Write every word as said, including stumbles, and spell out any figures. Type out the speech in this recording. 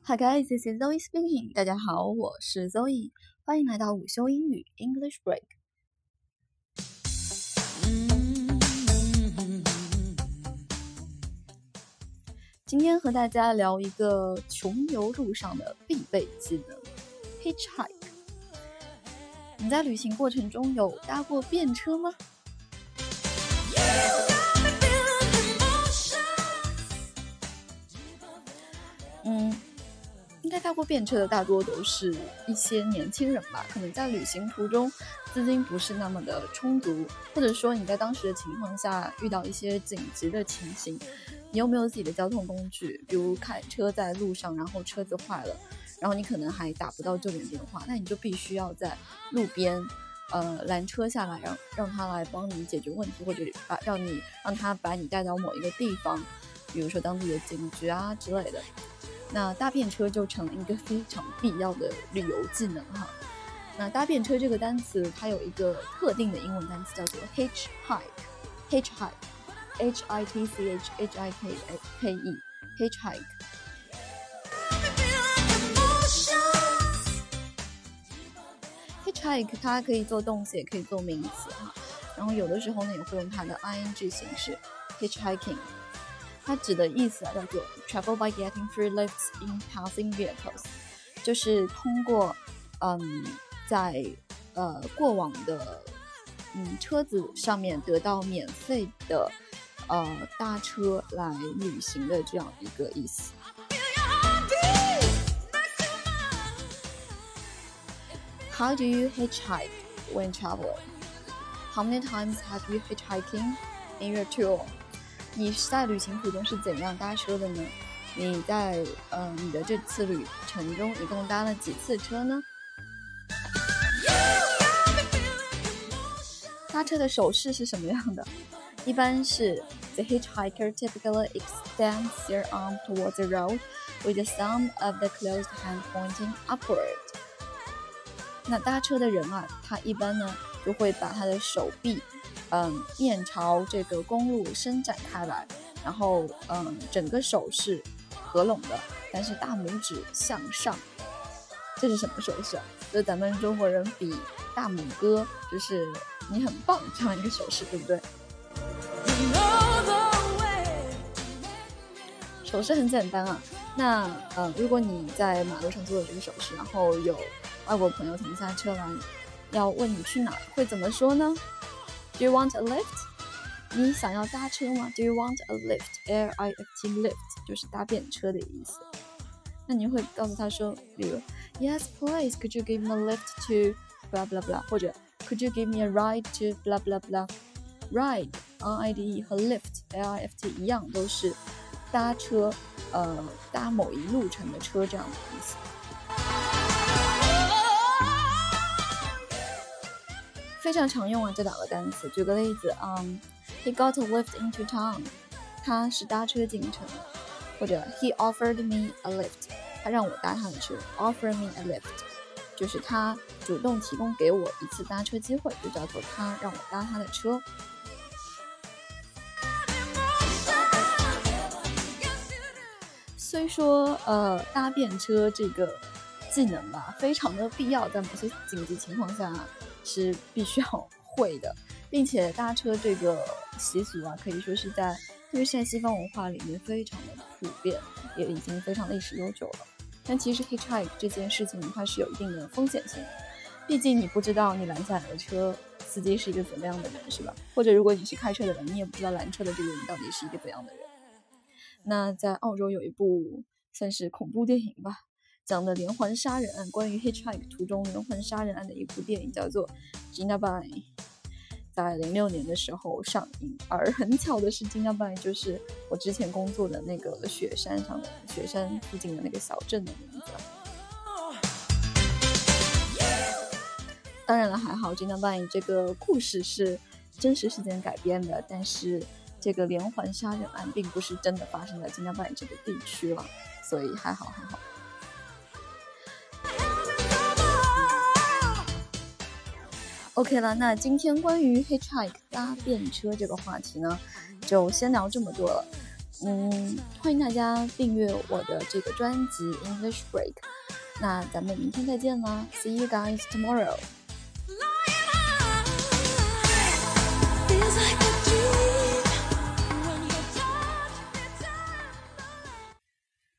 Hi guys, this is Zoe speaking. 大家好，我是 Zoe， 欢迎来到午休英语 English Break。今天和大家聊一个穷游路上的必备技能 Hitchhike。你在旅行过程中有搭过便车吗？嗯，应该搭过便车的大多都是一些年轻人吧，可能在旅行途中资金不是那么的充足，或者说你在当时的情况下遇到一些紧急的情形，你又没有自己的交通工具，比如开车在路上，然后车子坏了，然后你可能还打不到救援电话，那你就必须要在路边呃拦车下来，让让他来帮你解决问题，或者把让你让他把你带到某一个地方，比如说当地的警局啊之类的。那搭便车就成了一个非常必要的旅游技能哈。那搭便车这个单词它有一个特定的英文单词叫做 hitchhike hitchhike H I T C H H I K K E hitchhike。 hitchhike 它可以做动词也可以做名词哈，然后有的时候呢也会用它的 ing 形式 hitchhiking。它指的意思啊叫做 travel by getting free lifts in passing vehicles， 就是通过嗯在呃过往的嗯车子上面得到免费的呃搭车来旅行的这样一个意思。How do you hitchhike when traveling? How many times have you hitchhiking in your tour?你在旅行途中是怎样搭车的呢？你在呃你的这次旅程中一共搭了几次车呢？搭车的手势是什么样的？一般是 The hitchhiker typically extends their arm towards the road with the thumb of the closed hand pointing upward。 那搭车的人啊，他一般呢就会把他的手臂嗯，面朝这个公路伸展开来，然后嗯，整个手是合拢的，但是大拇指向上。这是什么手势啊？就是咱们中国人比大拇哥，就是你很棒这样一个手势，对不对？手势很简单啊。那呃，如果你在马路上做的这个手势，然后有外国朋友停下车来要问你去哪儿，会怎么说呢？Do you want a lift? 你想要搭车吗？ Do you want a lift? L I F T lift 就是搭便车的意思。那你会告诉他说，比如 Yes, please, could you give me a lift to blah blah blah 或者 Could you give me a ride to blah blah blah。 Ride, R I D E 和 lift, L I F T 一样，都是搭车呃搭某一路程的车这样的意思。非常常用啊这两个单词。举个例子，嗯、um, ，He got a lift into town， 他是搭车进城的。或者 He offered me a lift， 他让我搭他的车。Offer me a lift， 就是他主动提供给我一次搭车机会，就叫做他让我搭他的车。虽说呃搭便车这个技能吧，非常的必要，在某些紧急情况下是必须要会的，并且搭车这个习俗啊，可以说是在特别是在西方文化里面非常的普遍，也已经非常历史悠久了。但其实 hitchhike 这件事情它是有一定的风险性的，毕竟你不知道你拦下来的车司机是一个怎么样的人，是吧？或者如果你是开车的人，你也不知道拦车的这个人到底是一个怎样的人。那在澳洲有一部算是恐怖电影吧，讲的连环杀人案，关于 hitchhike 途中连环杀人案的一部电影叫做 Jindabyne， 在零六年的时候上映。而很巧的是 Jindabyne 就是我之前工作的那个雪山上的雪山附近的那个小镇的名字。当然了，还好 Jindabyne 这个故事是真实事件改编的，但是这个连环杀人案并不是真的发生在 Jindabyne 这个地区了，所以还好还好。OK 了，那今天关于 hitchhike 搭便车这个话题呢，就先聊这么多了。 嗯，欢迎大家订阅我的这个专辑 English Break。那咱们明天再见啦 ，See you guys tomorrow。